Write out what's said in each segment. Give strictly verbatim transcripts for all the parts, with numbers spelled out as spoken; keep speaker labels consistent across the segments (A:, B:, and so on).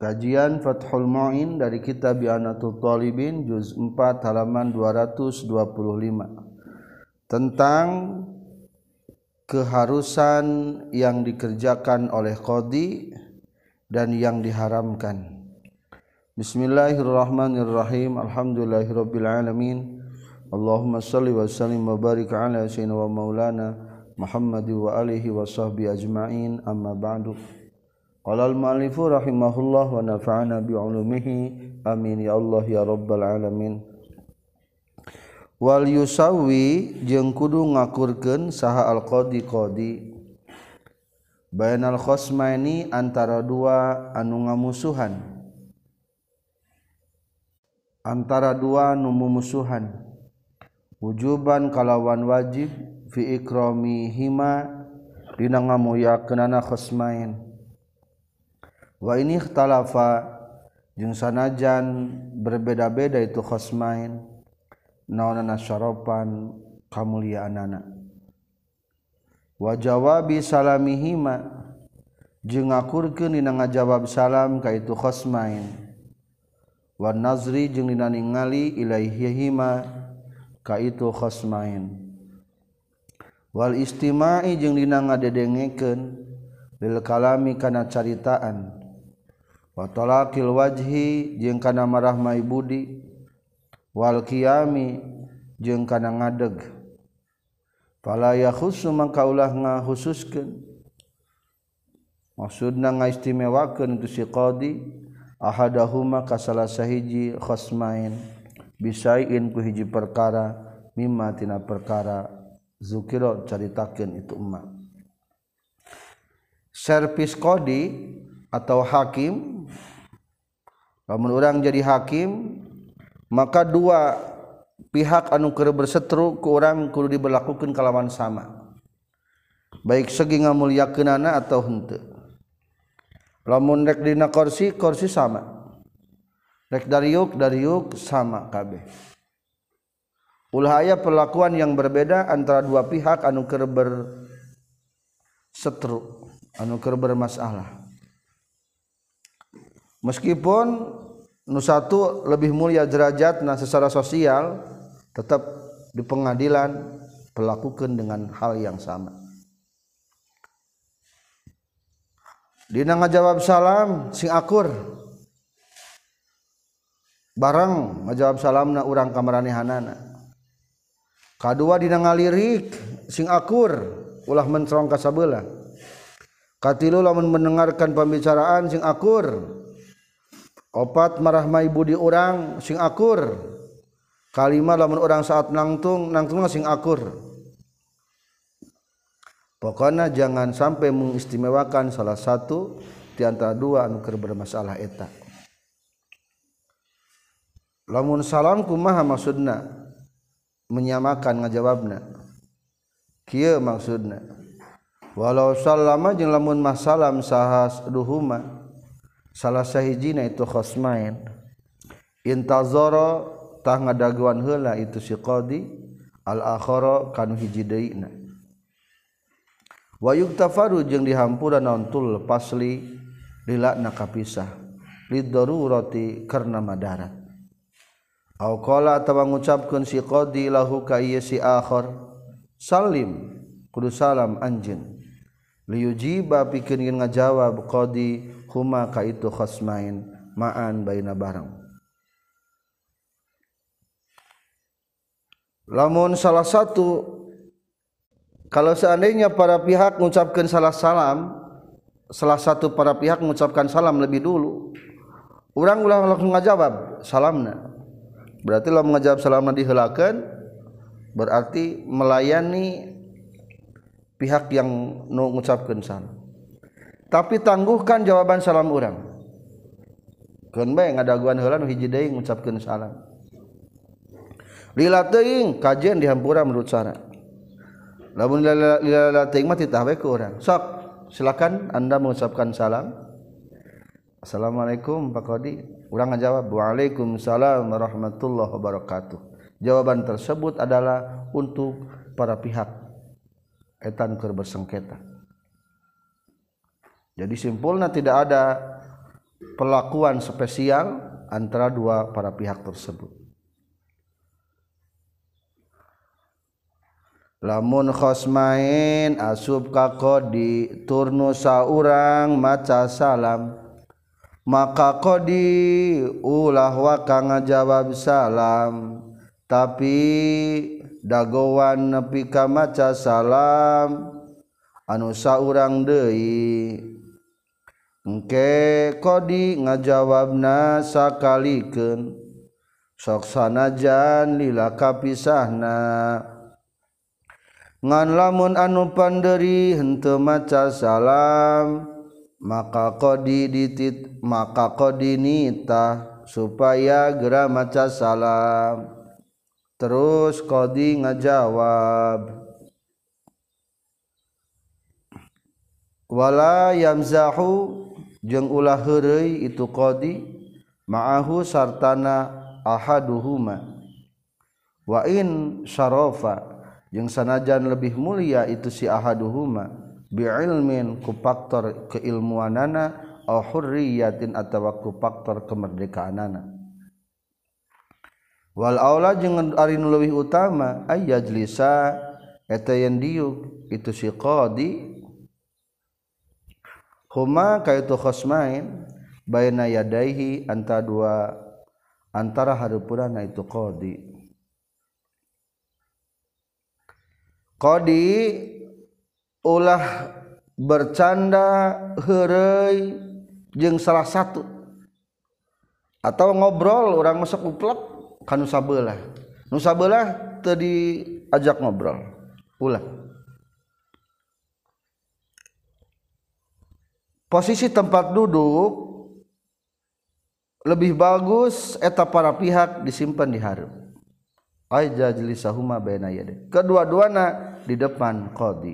A: Kajian Fathul Mu'in dari kitab I'anatul Talibin juz empat halaman dua ratus dua puluh lima tentang keharusan yang dikerjakan oleh qadhi dan yang diharamkan. Bismillahirrahmanirrahim. Alhamdulillahirabbil alamin. Allahumma shalli wa sallim wa barik ala sayyidina wa maulana Muhammad wa alihi wa sahbihi ajma'in. Amma ba'du. Qala al-mu'allifu rahimahullah wa nafa'ana bi'ulumihi amin ya Allah ya rabbal alamin. Wal yusawi jeung kudu ngakurkeun saha al-qadhi qadhi bainal khosmaini antara dua anu ngamusuhan, antara dua nu mumusuhan, wujuban kalawan wajib fi ikramihima dina ngamuyakeunana khosmain. Wa ini ikhtalafa jeung sanajan berbeda-beda itu khosmain naonana syarapan kamuliaanana. Wa jawabi salamihima jeung ngakurkeun dina ngajawab salam ka itu khosmain. Wa nazri jeung dina ningali ilaihihima ka itu khosmain. Wal istima'i jeung dina ngadedengekeun lil kalami kana caritaan. Wa talaqil wajhi jeung kana marahmai budi, wal qiyami jeung kana ngadeg. Fala yakhussu mangka ulah ngahususkeun, maksudna ngaistimewakeun itu si qadhi ahadahuma ka salah sahiji khosmain bisaiin ku hiji perkara mimma tina perkara zukira caritakeun itu emma. Servis qadhi atau hakim, lamun urang jadi hakim maka dua pihak anu keur berseteru ku urang kudu diberlakukeun kalawan sama, baik segi ngamulyakeunana atau henteu. Lamun rek dina kursi kursi sama, rek dariuk dariuk sama kabeh. Ulah aya perlakuan yang berbeda antara dua pihak anu keur berseteru, anu keur bermasalah. Meskipun nu satu lebih mulia derajatna secara sosial, tetap di pengadilan perlakukan dengan hal yang sama. Dina ngajawab salam sing akur, bareng ngajawab salamna urang kamaranehanana. Kadua dina ngalirik sing akur, ulah mencerong ka sabeula. Katilu lamun mendengarkan pembicaraan sing akur. Opat marahmai budi urang sing akur. Kalima lamun urang saat nangtung nangtungna sing akur. Pokona jangan sampai mengistimewakan salah satu di antara dua anu keur bermasalah eta. Lamun salam kumaha maksudna? Menyamakan ngajawabna. Kieu maksudna. Walau sallama jeung lamun mah salam sahas duhuma salah sahijina itu khosmain intazara tah ngadaguan heula itu si qadhi al akhara kanu hiji deuna. Wa yuktafaru jeung dihampura naon tul pasli lilana kapisah lid darurati karna madarat. Au qala atawa ngucapkeun si qadhi lahu ka ieu si akhar salim kudu salam anjeun liyujiba pikeun ngajawab qadhi huma ka itu khosmain ma'an baina barang. Lamun salah satu, kalau seandainya para pihak mengucapkan salah salam, salah satu para pihak mengucapkan salam lebih dulu, urang ulah langsung ngajawab salamna, berarti lamun ngajawab salamna diheulakeun berarti melayani pihak yang nu ngucapkeun salam. Tapi tangguhkan jawaban salam urang. Keun bae ngadaguan heula nu hiji deui ngucapkeun salam. Lila teuing kajian dihampura menurut cara. Lamun lila teuing mah titah bae ku urang. Sok, silakan Anda mengucapkan salam. Assalamualaikum Pak Qadhi. Urang ngajawab waalaikumsalam warahmatullahi wabarakatuh. Jawaban tersebut adalah untuk para pihak etan keur bersengketa. Jadi simpulnya tidak ada perlakuan spesial antara dua para pihak tersebut. Lamun khosmain asub ka qadi turnu saurang maca salam maka qadi ulah wa kang ngajawab salam tapi dagowan nepi ka maca salam anu saurang deui engke qadi ngajawabna sakalikeun sok sanajan lila kapisahna ngan lamun anu panderi henteu maca salam maka qadi ditit maka qadi nitah supaya geura maca salam terus qadi ngajawab wala yamzahu jeung ulah heureuy itu qadi ma'ahu sartana ahaduhuma wa in syarafa jeung sanajan lebih mulia itu si ahaduhuma bi'ilmin ku faktor keilmuanana aw hurriyatin atawa ku faktor kemerdekaanana wal aula jeung ari nu leuwih utama ay yajlisa eta yen diuk itu si qadi huma kaitu khosmain baina yadaihi antara dua antara hareupeurana itu qadi qadi ulah bercanda heureuy jeung salah satu atau ngobrol urang masuk uplek ka nu sabeulah nu sabeulah teu diajak ngobrol ulah posisi tempat duduk lebih bagus eta para pihak disimpan di hareup ay jajlisahuma baina yadayhi kedua-duana di depan qadi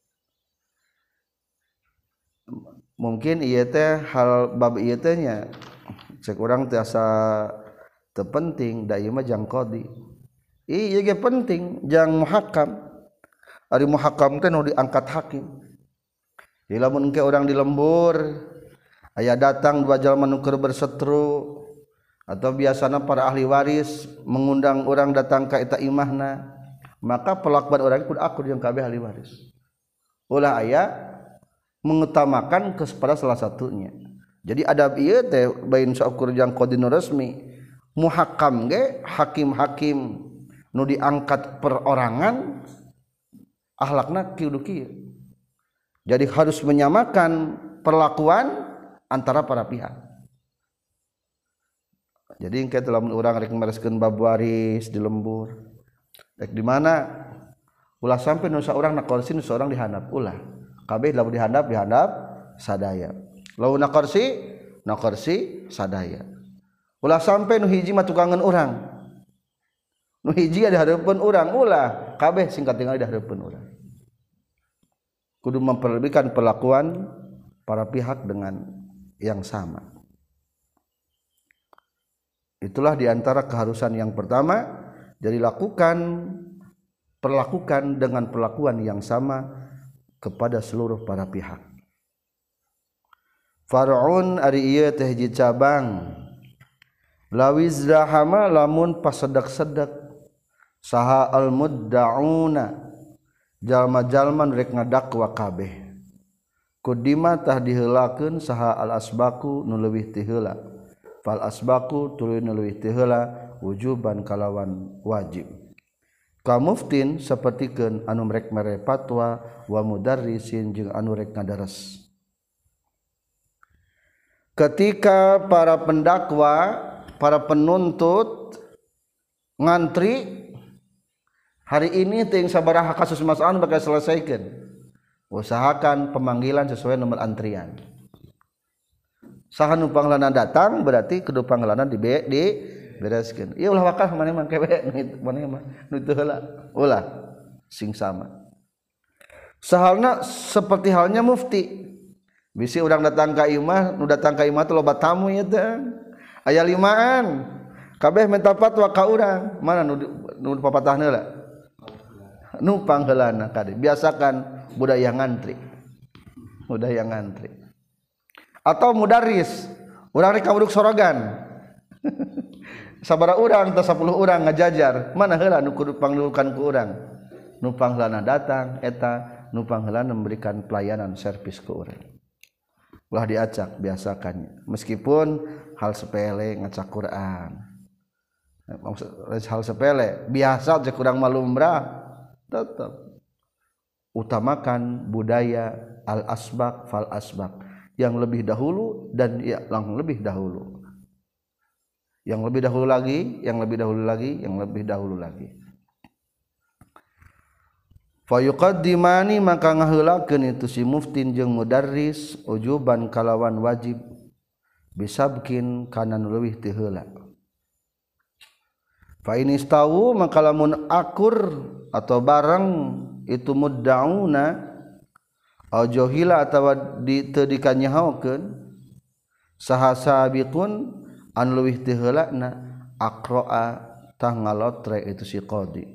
A: mungkin ieu teh hal bab ieu teh nya cek urang teh asa teu penting da ieu mah jang qadi ieu ge penting jang muhakam ari muhakam teh nu diangkat hakim jadi lamun engke urang di lembur aya datang dua jalma nu keur bersetru atau biasana para ahli waris mengundang orang datang ka eta imahna maka pelakuan orang kudu akur jeung kabeh ahli waris ulah aya mengutamakan kepada salah satunya jadi adab ieu teh bain saukur jeung qadi nu resmi muhakam ge hakim-hakim nu diangkat perorangan akhlakna kieu kieu jadi harus menyamakan perlakuan antara para pihak. Jadi engke lamun urang rek mereskeun bab waris di lembur rek di mana ulah sampai nu saurang na kursi nu saurang dihandap ulah kabeh lamun dihandap dihandap sadaya lamun na kursi na kursi sadaya ulah sampai nu hiji mah tukangan urang nu hiji di hareupeun urang ulah kabeh singkat tinggal di hareupeun urang kudu memperlebihkan perlakuan para pihak dengan yang sama. Itulah diantara keharusan yang pertama. Jadi lakukan, perlakukan dengan perlakuan yang sama kepada seluruh para pihak. Far'un ari ieu teh hiji cabang. Lawizrahama lamun pasedak-sedak saha al-mudda'una jalma-jalma rek ngadakwa kabeh. Kudima tah diheulakeun saha al-asbaku nu leuwih ti heula. Fal asbaku tuluy leuwih ti heula wujuban kalawan wajib ka muftin sapertikeun anu rek mere fatwa wa mudarrisin jeung anu rek ngadares ketika para pendakwa para penuntut ngantri hari ini teh sabaraha kasus masalah bakal selesaikeun usahakan pemanggilan sesuai nomor antrian. Saha nu panglana datang berarti kudu panglana di di bereskeun. Ieu ulah wakah maneh mah kewe maneh mah nu teu heula. Ulah sing sama. Sahalna seperti halnya mufti. Bisi urang datang ka imah, nu datang ka imah teh loba tamu ieu teh. Aya limaan. Kabeh minta fatwa ka urang. Mana nu nu papatahna heula? Nu pangheulana kade. Biasakan budaya ngantri. Budaya ngantri. Atau mudaris urang rek kawruk sorogan sabaraha urang teh sepuluh urang ngajajar mana heula nu kudu pangdulukan ku urang nu pangheulana datang eta nu pangheulana memberikan pelayanan servis ke urang ulah diacak biasakan meskipun hal sepele ngacak Quran hal sepele biasa aja kurang malumrah tetap utamakan budaya al asbaq fal asbaq yang lebih dahulu dan yang lebih dahulu yang lebih dahulu lagi yang lebih dahulu lagi yang lebih dahulu lagi fa yuqaddimani maka ngaheulakeun itu si muftin jeung mudarris ujuban kalawan wajib bisabkin kana nu leuwih teu heula fa in istawu maka lamun akur atau barang itu muddauna au jahila atawa di teu dikanyahokeun saha sabiqun an leuwih teu heulana aqraa tah ngalotre itu si qadi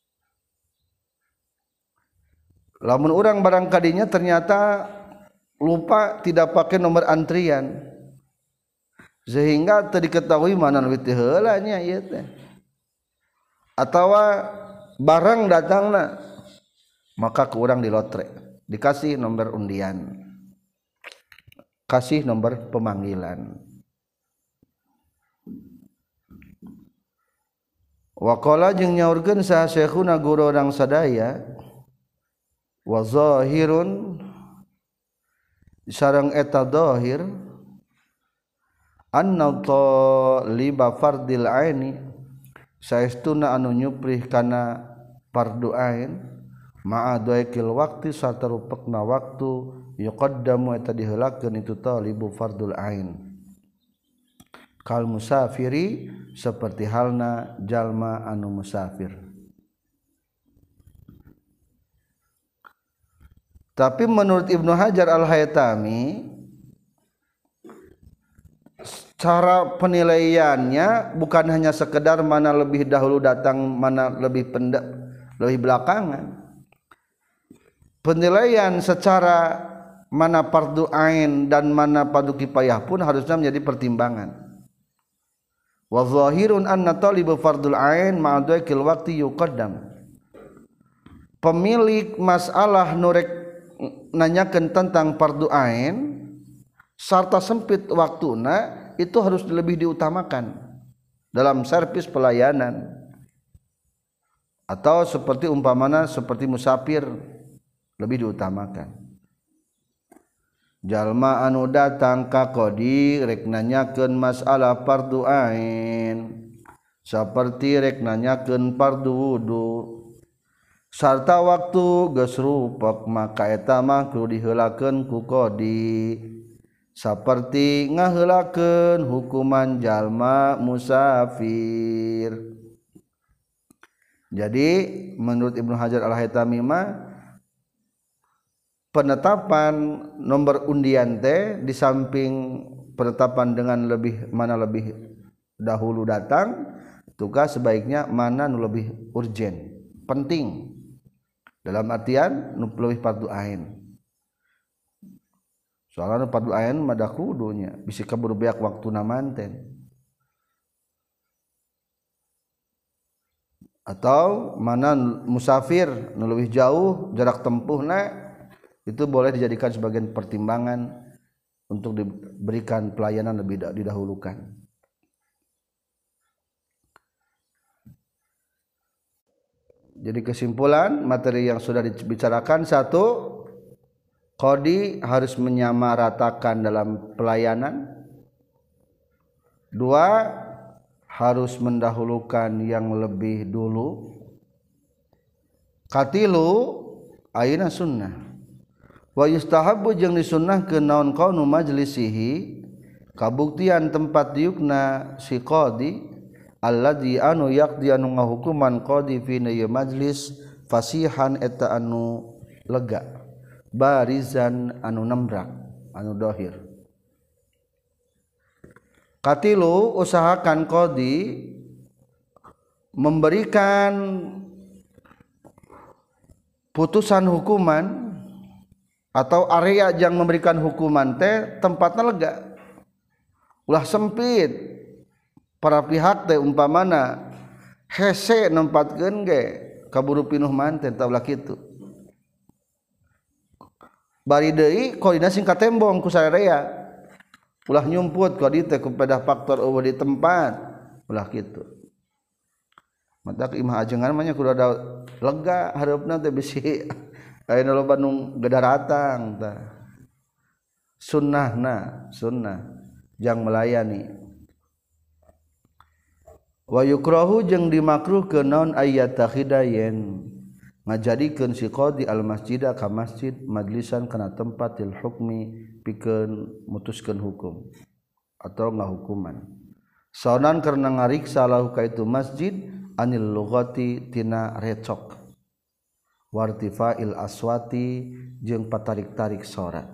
A: lamun urang barang kadinya ternyata lupa tidak pakai nomor antrian sehingga teu diketahui mana leuwih teu heula nya ieu teh atawa barang datangna maka ke urang dilotre dikasih nomor undian kasih nomor pemanggilan waqala jeung nyaurkeun saha syekhuna guru urang sadaya wa zahirun sareng eta zahir anna taliba fardil aini saestuna anu nyuprih kana fardu ain ma'a dhaikil waqti sarta rupekna waktu yuqaddamu eta diheulakeun itu talibu fardul ain kal musafiri seperti halna jalma anu musafir tapi menurut Ibnu Hajar Al-Haytami cara penilaiannya bukan hanya sekedar mana lebih dahulu datang mana lebih pendek lebih belakangan penilaian secara mana fardu ain dan mana fardu kifayah pun harusnya menjadi pertimbangan wa zahirun anna talibu fardul ain ma'adwaikil waqti yuqaddam pemilik masalah nurek nanyakeun tentang fardu ain sarta sempit waktuna itu harus lebih diutamakan dalam servis pelayanan atau seperti umpamana seperti musafir lebih diutamakan jalma anu datang ka qadi rek nanyakeun masalah fardu ain saperti rek nanyakeun fardu wudu sarta waktu geus rupek maka eta mah kudu diheulakeun ku qadi saperti ngaheulakeun hukuman jalma musafir. Jadi menurut Ibnu Hajar Al-Haytami mah penetapan nomor undian teh di samping penetapan dengan lebih mana lebih dahulu datang tugas sebaiknya mana nu lebih urgen penting dalam artian nu lebih fardu ain soalnya nu fardu ain mada kudunya bisa kabur beak waktu namanten atau mana musafir nu lebih jauh jarak tempuhna itu boleh dijadikan sebagai pertimbangan untuk diberikan pelayanan lebih didahulukan. Jadi kesimpulan materi yang sudah dibicarakan satu, qadi harus menyamaratakan dalam pelayanan. Dua, harus mendahulukan yang lebih dulu. Katilu ayeuna sunnah. Wa yustahabbu jeung disunnahkeun naon qaunu majlisihi kabuktian tempat diukna si qadi alladzi anu yaqdi anu ngahukuman qadi fi majlis fasihan eta anu lega barizan anu nembrak anu dohir katilu usahakan qadi memberikan putusan hukuman atau area yang memberikan hukuman teh tempatnya lega ulah sempit para pihak teh umpamana hese nempatkeun ge kaburu pinuh manten tah ulah kitu bari deui koordinasi ka tembong ku sararea ulah nyumput ka dieu teh kepada faktor eueuh di tempat ulah kitu mata imah ajengan mah nya kudu ada lega hareupna teh bisi ayeuna loba nu gedaratang tah sunnahna sunnah jang melayani wa yukrahu jeung dimakruhkeun naon ayatakhidayen ngajadikeun si qadi al masjida ka masjid majlisan kana tempat til hukmi pikeun mutuskeun hukum atau ngahukuman saonan karena ngariksa lahu ka itu masjid anil lughati tina recok wartifa'il aswati jeung patarik-tarik sora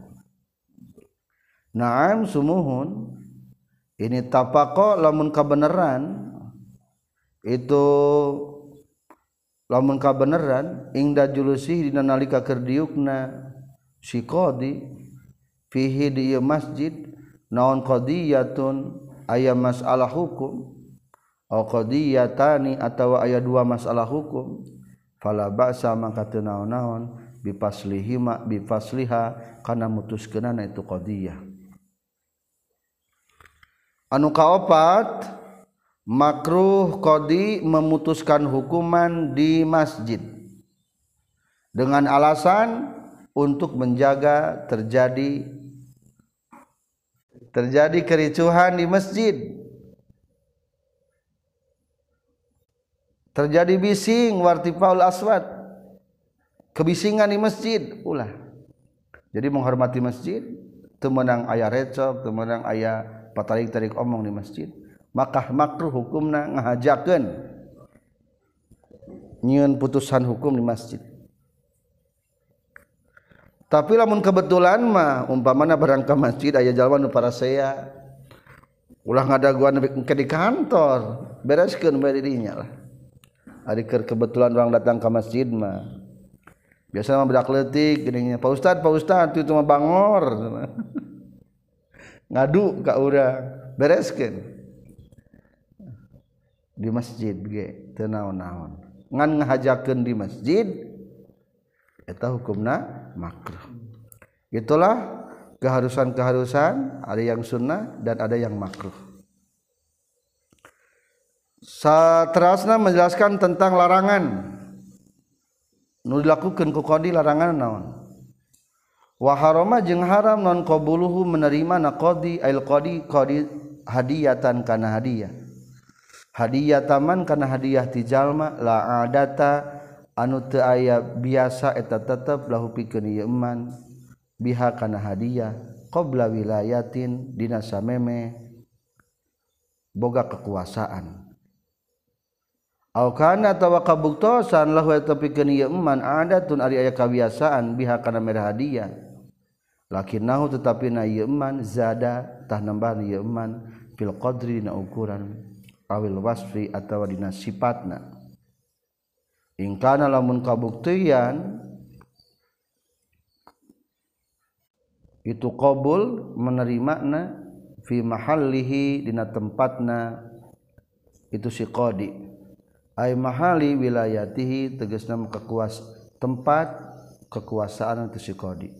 A: naam sumuhun ini tapako lamun kabeneran itu lamun kabeneran ingda julusi dina nalika keur diukna si qadi fihi di masjid naon qadiyatun aya masalah hukum au qadiyatani atawa aya dua masalah hukum fala ba'sa mangka teu naon-naon bifaslihima bifasliha kana mutuskeunana itu qadiyah anu kaopat makruh qadi memutuskan hukuman di masjid dengan alasan untuk menjaga terjadi terjadi kericuhan di masjid terjadi bising wartifaul aswat kebisingan di masjid ulah jadi menghormati masjid teu meunang aya recok teu meunang aya patarik-tarik omong di masjid maka makruh hukumna ngahajakeun nyieun putusan hukum di masjid tapi lamun kebetulan mah umpamana barang ka masjid aya jalma nu parasea ulah ngadaguan ke di kantor bereskeun bae dirinya lah ari keur kebetulan orang datang ke masjid mah biasa mah budak leutik geuning Pak Ustad Pak Ustad itu mah bangor ngadu ka urang bereskeun di masjid ge teu naon-naon ngan ngahajakeun di masjid eta hukumna makruh itulah keharusan-keharusan ada yang sunnah dan ada yang makruh saterasna menjelaskan tentang larangan nu dilakukeun ku qadi larangan naon wa harama jeung haram non qabuluhu menerima na qadi ail qadi qadi hadiyatan kana hadiah hadiah taman kana hadiah ti jalma la adata anu teu aya biasa eta tetep lahu pikeun ieu eman biha kana hadiah qabla wilayatin dina sameme boga kekuasaan au kana tawa kabuktosan lahu eta pikeun ieu eman adatun ari aya kabiasaan biha kana mere hadiah lakinnahu tetapi na ieu eman zada tah nambahan ieu eman fil qadri dina ukuran awil wasfi atawa dina sifatna ingkana lamun kabuktian itu qabul menerimana fi mahallihi dina tempatna itu si qadi ai mahali wilayatihi tegasna kekuas tempat kekuasaan itu si qadi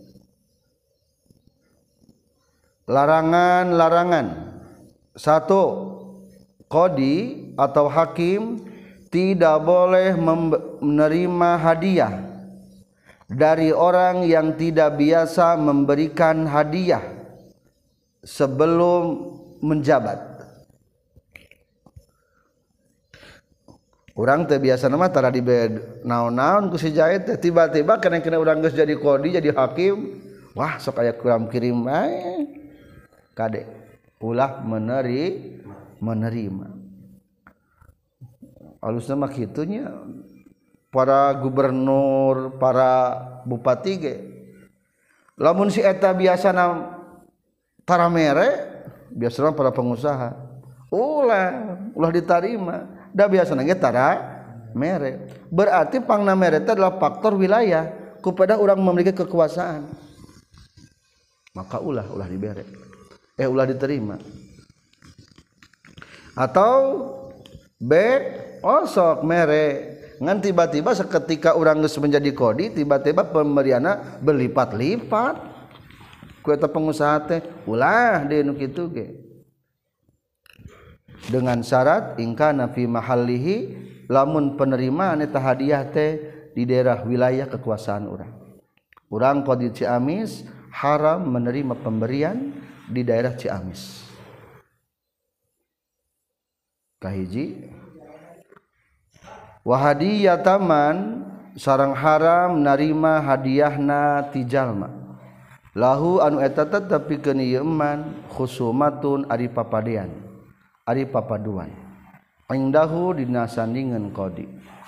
A: larangan-larangan satu qadi atau hakim tidak boleh menerima hadiah dari orang yang tidak biasa memberikan hadiah sebelum menjabat. Urang teh biasa nama tara di naon-naon ku si jahit teh tiba-tiba kena-kena urang geus jadi qadi jadi hakim wah sok aya kuram kirim bae kade ulah meneri menerima alusna mah kitunya para gubernur para bupati ge lamun si eta biasana tara mere biasana para pengusaha ulah ulah diterima da biasana ge tara mere berarti pangna mere teh adalah faktor wilayah kepada orang memiliki kekuasaan maka ulah ulah dibere eh ulah diterima atau B osok mere ngan tiba-tiba seketika orang geus menjadi kodi tiba-tiba pemberiana berlipat-lipat ku eta pengusaha teh ulah deui nu kitu ge dengan syarat ingkana fi mahallihi lamun penerimaan eta hadiah teh di daerah wilayah kekuasaan urang urang kodi Ciamis haram menerima pemberian di daerah Ciamis kahiji wa hadiyataman sareng haram narima hadiahna ti jalma lahu anu eta tetepikeun ieu eman khusumatun ari papadean ari papaduan indahu dina sandingeun qadi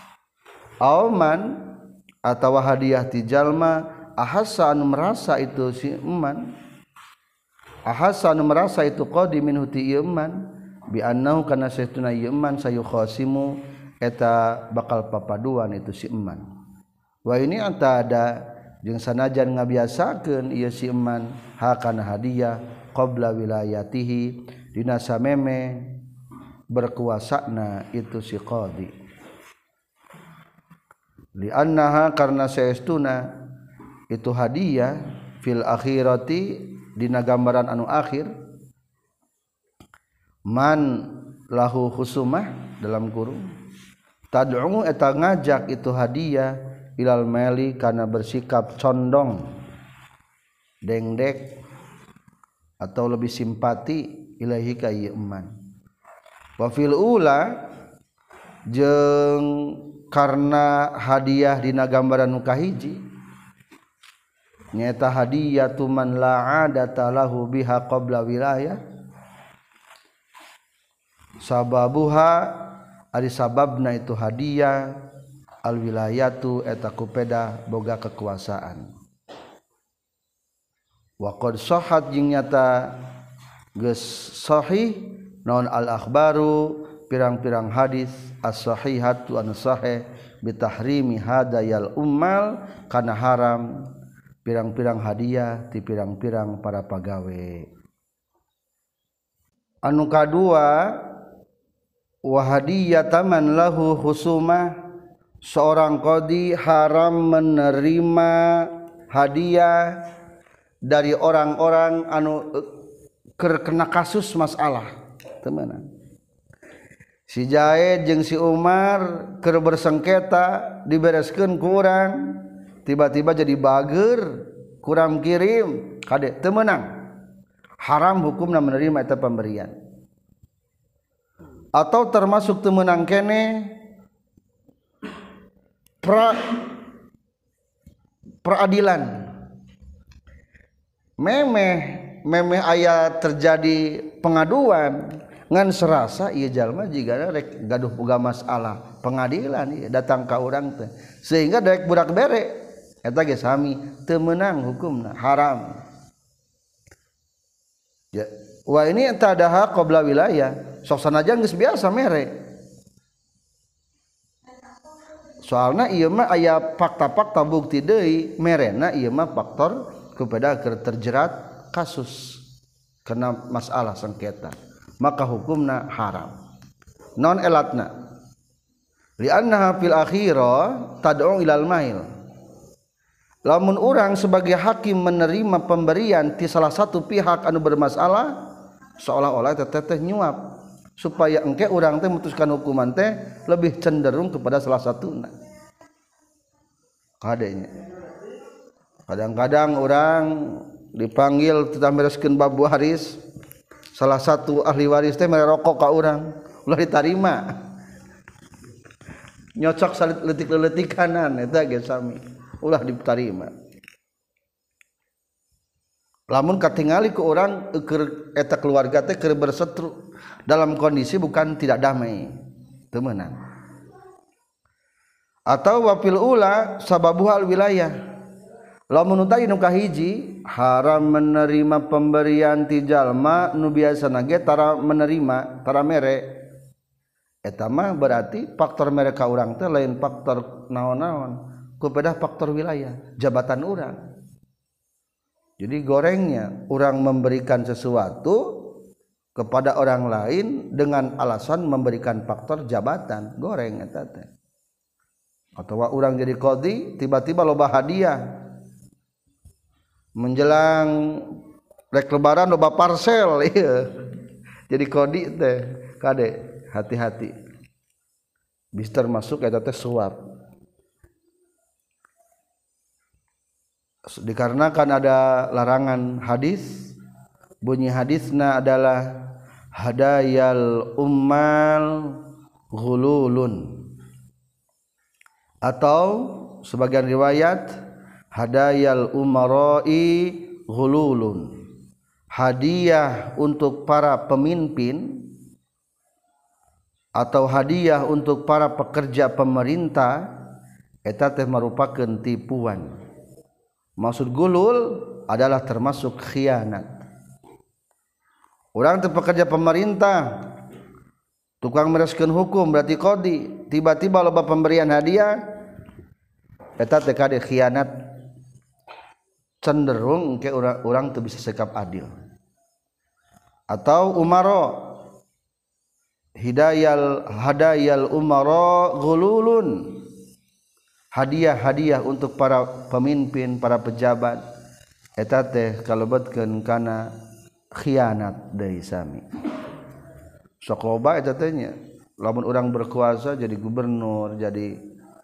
A: auman atawa hadiah ti jalma ahassa anu merasa itu si eman ahassa anu merasa itu qadi minhu ti ieu eman bi annahu kana saestuna ieu eman sayukhasimu eta bakal papaduan itu si eman wa ini anta ada jeung sanajan ngabiasakeun ieu si eman hakana hadiah qabla wilayatihi dina sameme berkuasana itu si qadi li annaha karna saestuna itu hadiah fil akhirati dina gambaran anu akhir man lahu khusumah dalam kurung tad'u eta ngajak itu hadiah ilal mali kana bersikap condong dengdek atau lebih simpati ilahi ka ieu eman wa fil ula jeung karna hadiah dina gambaran nu kahiji nyaeta hadiyatu man la adata lahu biha qabla wilayah sababuha ari sababna itu hadiah al wilayatu eta kupeda boga kekuasaan wa qad sahhat jeung nyata geus sahih naon al akhbaru pirang-pirang hadis as-sahihatu anu sahih bitahrimi hadayal ummal kana haram pirang-pirang hadiah ti pirang-pirang para pagawe anu kadua wa hadiyataman lahu husumah seorang qadi haram menerima hadiah dari orang-orang anu kena kasus masalah temenan si Jaid jeung si Umar keur bersengketa dibereskeun ku urang tiba-tiba jadi bager kurang kirim kade teu meunang haram hukumna menerima eta pemberian atau termasuk teu meunang kene pra peradilan memeh memeh aya terjadi pengaduan ngan serasa ieu jalma jiga rek gaduh boga masalah pengadilan ieu datang ka urang teh sehingga daek budak bere eta ge sami teu meunang hukumna haram ya wa ini eta daha qabla wilayah sok sanajan geus biasa mere soalna ieu mah aya fakta-fakta bukti deui merena ieu mah faktor kepada terjerat kasus kena masalah sengketa maka hukumna haram non elatna li'annaha fil akhirah tad'u ilal mail lamun urang sebagai hakim menerima pemberian ti salah satu pihak anu bermasalah seolah-olah teteh nyuap supaya engke urang teh mutuskan hukuman teh lebih cenderung kepada salah satuna kadenya kadang-kadang orang dipanggil tetap bereskeun bab waris salah satu ahli waris teh mere rokok ka urang ulah ditarima nyocok leutik-leutikanan eta ge sami ulah ditarima lamun katingali ku urang keur eta keluarga teh keur berseteru dalam kondisi bukan tidak damai teu meunang atau wafil ula sababuhal wilayah lamun utai nu kahiji haram menerima pemberian ti jalma nu biasana ge tara menerima tara mere eta mah berarti faktor mere ka urang teh lain faktor naon-naon kepada faktor wilayah jabatan urang jadi gorengnya urang memberikan sesuatu kepada orang lain dengan alasan memberikan faktor jabatan goreng eta teh. Atau orang jadi qadhi tiba-tiba loba hadiah menjelang rek lebaran loba parcel ieu jadi qadhi teh kade hati-hati bisa termasuk eta teh suap dikarenakan ada larangan hadis bunyi hadisna adalah hadayal ummal ghululun atau sebagian riwayat hadayal umarai ghululun hadiah untuk para pemimpin atau hadiah untuk para pekerja pemerintah eta teh merupakan tipuan. Maksud gulul adalah termasuk khianat. Orang teh pekerja pemerintah tukang mereskeun hukum berarti qadhi tiba-tiba loba pemberian hadiah eta teh kade khianat cenderung ke urang urang teu bisa sikap adil. Atau umaro hidayal hadayal umara ghululun hadiah-hadiah untuk para pemimpin para pejabat eta teh kalebetkeun kana khianat deui sami sok loba eta teh nya lamun urang berkuasa jadi gubernur jadi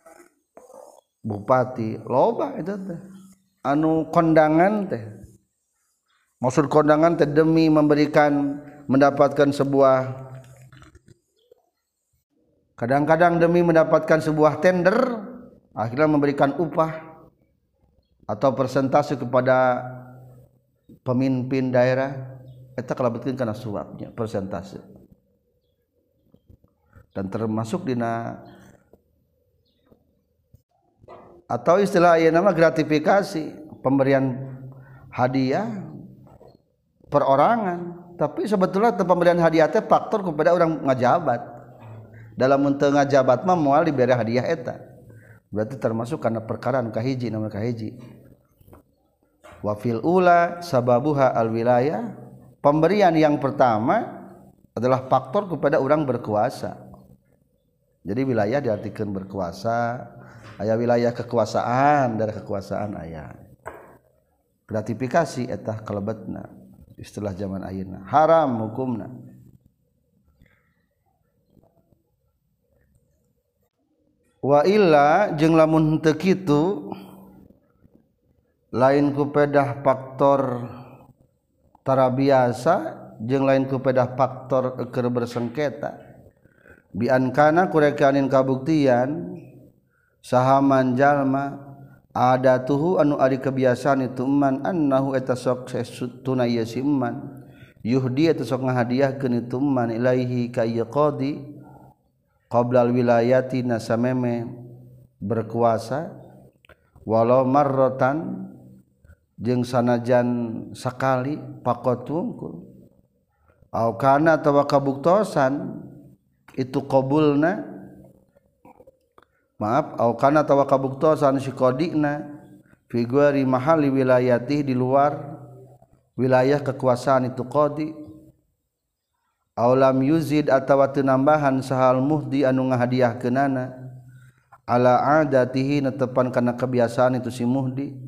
A: bupati loba eta teh anu kondangan teh maksud kondangan teh demi memberikan mendapatkan sebuah kadang-kadang demi mendapatkan sebuah tender akhirnya memberikan upah atau persentase kepada pemimpin daerah eta kalebetkeun kana suapnya persentase dan termasuk dina atau istilah ayeuna mah gratifikasi pemberian hadiah perorangan tapi sebetulnya pemberian hadiah teh faktor kepada orang ngajabat dalam teu ngajabat mah moal dibere hadiah eta berarti termasuk karena perkara anu kahiji nama kahiji wa fil ula sababuha al wilayah pemberian yang pertama adalah faktor kepada orang berkuasa jadi wilayah diartikan berkuasa aya wilayah kekuasaan dari kekuasaan aya gratifikasi eta kalebetna istilah zaman ayeuna haram hukumna wa illa jeung lamun teu kitu lain ku pedah faktor tara biasa jeung lain ku pedah faktor keur bersengketa bi an kana kurekanin kabuktian sahaman jalma adatuhu anu ari kebiasaan itu man annahu eta sok sesutuna ieu si man yuhdi eta sok ngahadiahkeun itu man ilaihi ka ieu qadhi qablal wilayati nasameme berkuasa walau marratan jeung sanajan sakali pakotungkul au kana atawa kabuktosan itu qabulna maaf au kana atawa kabuktosan si qadina fi ghairi mahalli wilayati di luar wilayah kekuasaan itu qadi aulam yuzid atawa teu nambahan sahal muhdi anu ngahadiahkeunana ala adatihi netepan kana kebiasaan itu si muhdi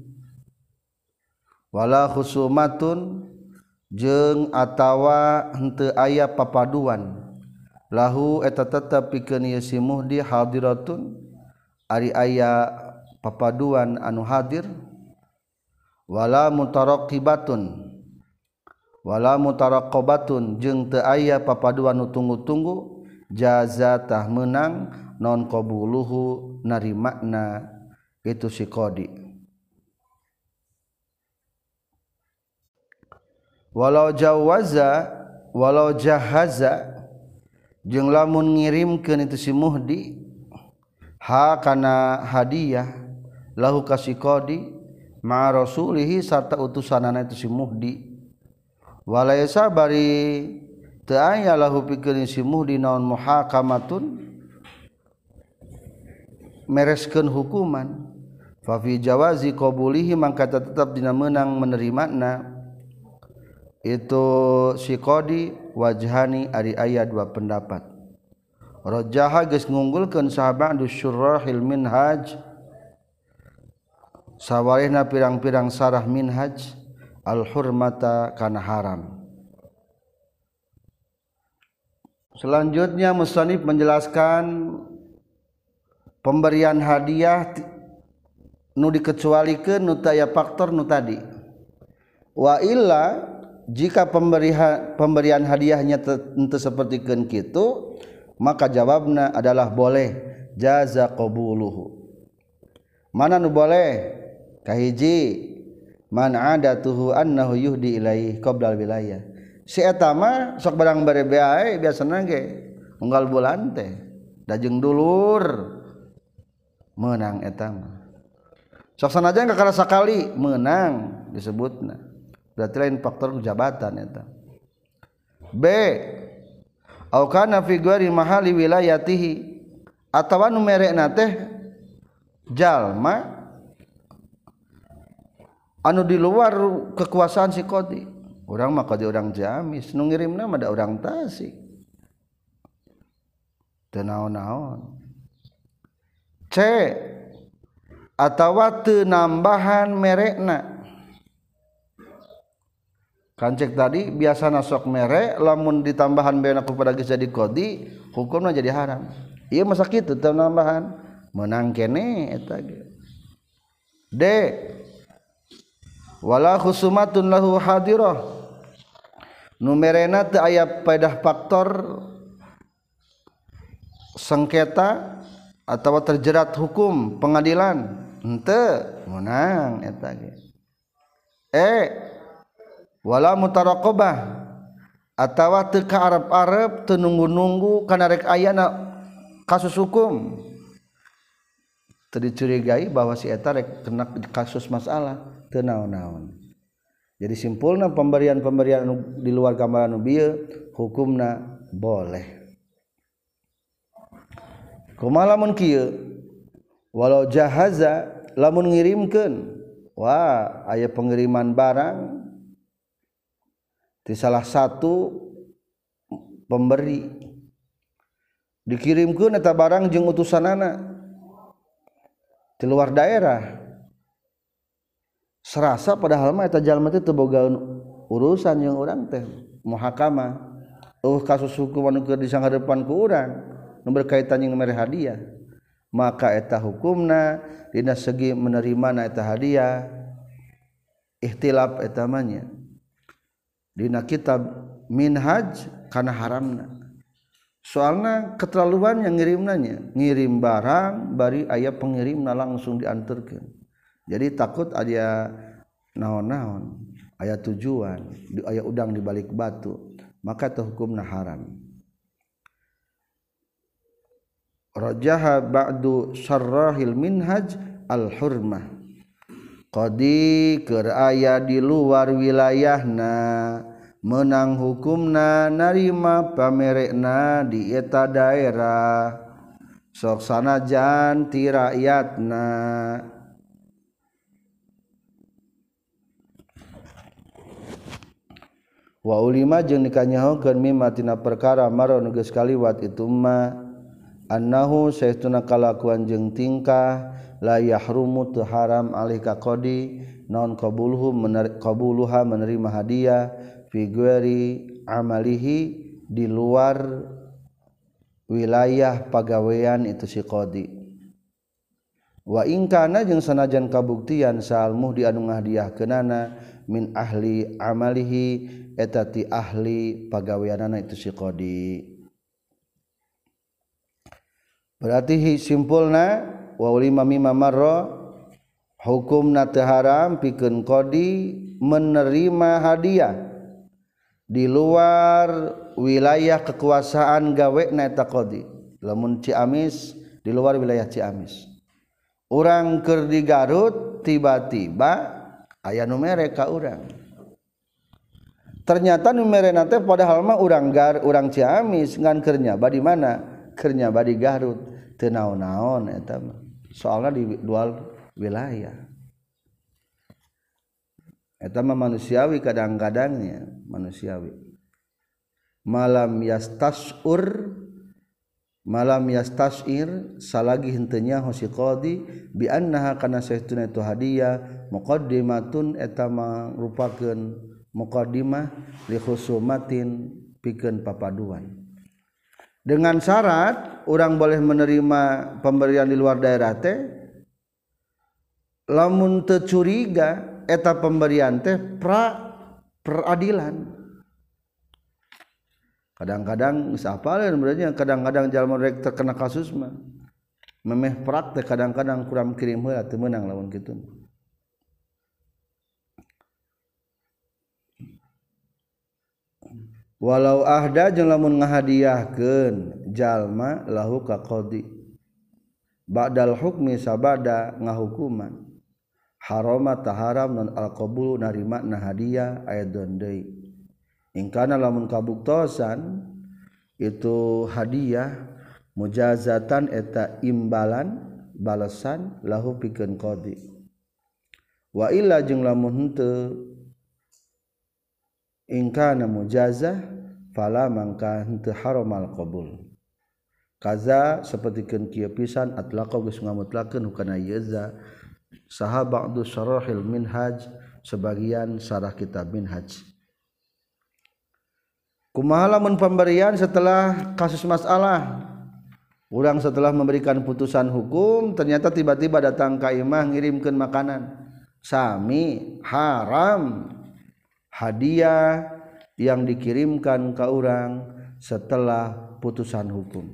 A: wala khusumatun jeung atawa henteu aya papaduan lahu eta tetep pikeun ieu si muhdi hadiratun ari aya papaduan anu hadir wala mutaraqibatun wala mutaraqabatun jeung teu aya papaduan nu tunggu-tunggu jazatah menang non qabuluhu narimakna itu si qadi walau jawaza walau jahaza jeung lamun ngirimkeun itu si muhdi ha kana hadiah lahu ka si qadi ma rasulihi sarta utusanana itu si muhdi walaysa bari teu aya lahu pikeun si muhdi naon muhakamatun mereskeun hukuman fa fi jawazi qabulihi mangka tetep dina meunang menerimana itu si qadi wajhani ari aya dua pendapat. Rajaha geus ngunggulkeun sahabat syurahil minhaj sawarehna pirang-pirang sarah minhaj al hurmata kana haram. Selanjutnya musannif menjelaskan pemberian hadiah nu dikecualikeun nu teu aya faktor nu tadi. Wa illa jika pemberian pemberian hadiahnya teu sapertikeun kitu maka jawabna adalah boleh jaza qabuluhu. Mana nu boleh? Kahiji man adatuhu annahu yuhdi ilaihi qabla wilayah. Si eta mah sok barang bare bae biasana ge unggal bulan teh da jeung dulur meunang eta mah. Sok sanajan kakara sakali meunang disebutna. Berarti lain faktor jabatan eta. B au kana fi ghairi mahali wilayatihi atawa nu merekna teh jalma anu di luar kekuasaan si qadi. Urang mah qadi urang Ciamis, nu ngirimna mah da urang Tasik. Teu naon-naon. C atawa teu nambahan merekna. Kancek tadi biasana sok mere lamun ditambahan beuna kepada geus jadi qadi hukumna jadi haram. Ieu mah sakitu teu nambahan meunang keneh eta ge. D wala khusumatun lahu hadirah nu merena teu aya paedah faktor sengketa atawa terjerat hukum pengadilan henteu meunang eta ge. E wala mutaraqabah atawa teu kaarep-arep teu nunggu-nunggu kana rek ayana kasus hukum teu dicurigai bahwa si eta rek kena kasus masalah teu naon-naon. Jadi simpulna pemberian-pemberian di luar gambaran nu bieu hukumna boleh. Kumaha lamun kieu walau jahaza lamun ngirimkeun wah aya pengiriman barang di salah satu pemberi dikirimkeun eta barang jeung utusanana di luar daerah serasa padahal mah eta jalma teh teu boga urusan jeung urang teh muhakamah uh kasus hukum anu keur disanghareupan ku urang nu berkaitan jeung mere hadiah maka eta hukumna dina segi menerimana eta hadiah ihtilaf eta mah nya dina kitab minhaj kana haramna. Soalna keterlaluan yang ngirimnanya ngirim barang bari aya pengirimna langsung dianterkeun. Jadi takut aya naon-naon, aya tujuan, aya udang di balik batu, maka teh hukumna haram. Rajaha ba'du syarrahil minhaj al-hurmah. Qadi keur aya di luar wilayahna menang hukumna narima pamerekna di eta daerah sok sanajan ti rakyatna. Wa ulima jeung dikanyahokeun mimma tina perkara maron geus kaliwat itu mah annahu saestuna kalakuan jeung tingkah la yahrumu tu haram alih ka qadi naon qabuluhu qabuluha menerima hadiah fi ghairi amalihi di luar wilayah pagawean itu si qadi. Wa in kana jeung sanajan kabuktian saal muhdi anu ngahdiahkeunana min ahli amalihi eta ti ahli pagaweanana itu si qadi. Berarti simpulna wa ulima mimma marra hukumna teu haram pikeun qadi menerima hadiah di luar wilayah kekuasaan gawena eta qadi. Lamun Ciamis di luar wilayah Ciamis. Urang keur di Garut tiba-tiba aya nu mere ka urang. Ternyata nu merena teh padahal mah urang Gar urang Ciamis ngan keur nyaba di mana? Keur nyaba di Garut. Teu naon-naon eta mah. Soalna di dual wilayah eta mah manusiawi kadang-kadangnya manusiawi malam yastasur malam yastasir salagi hentenya hosi qadi bi annaha kana saestuna itu hadiah muqaddimatun eta mangrupakeun muqaddimah li khusumatin pikeun papaduan dengan syarat orang boleh menerima pemberian di luar daerah teh lamun teu curiga eta pemberian teh pra peradilan. Kadang-kadang geus apaleun berarti kadang-kadang jalma rek terkena kasus mah memeh prak teh kadang-kadang kurang kirim heula teu meunang lamun kitu. Walau ahda jeung lamun ngahadiahkeun jalma lahu ka qadi ba'dal hukmi sabada ngahukuman harama taharam non alqabul narima na hadiah aidon deui ingkana lamun kabuktosan itu hadiah mujazatan eta imbalan balasan lahu pikeun qadi wa illa jeung lamun henteu ingkana mujazah fala mangka henteu haramal qabul kaza sapertikeun kieu pisan atlaqa geus ngamutlakeun hukana yaza saha ba'du syarahil minhaj sebagian syarah kitab minhaj kumaha lamun pemberian setelah kasus masalah urang setelah memberikan putusan hukum ternyata tiba-tiba datang ka imah ngirimkeun makanan sami haram hadiah yang dikirimkan ke orang setelah putusan hukum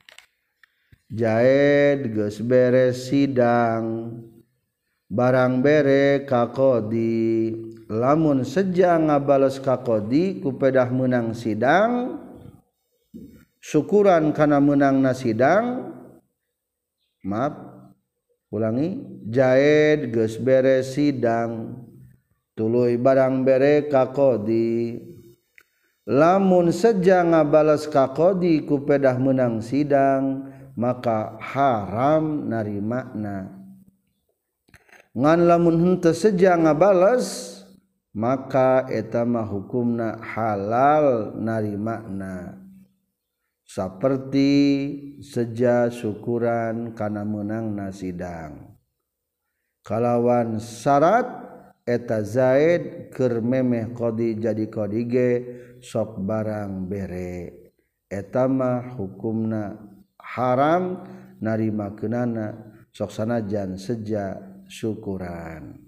A: jaed geus beres sidang barang bere ka qadi lamun seja ngabales ka qadi ku pedah meunang sidang syukuran kana meunangna sidang maaf ulangi jaed geus beres sidang tuluy barang bere ka qadi lamun seja ngabales ka qadi ku pedah meunang sidang maka haram narimakna ngan lamun henteu seja ngabales maka eta mah hukumna halal narimakna saperti seja syukuran kana meunangna sidang kalawan syarat eta zaid keur memeh qadi jadi qadi ge sok barang bere eta mah hukumna haram narimakeunana sok sanajan seja syukuran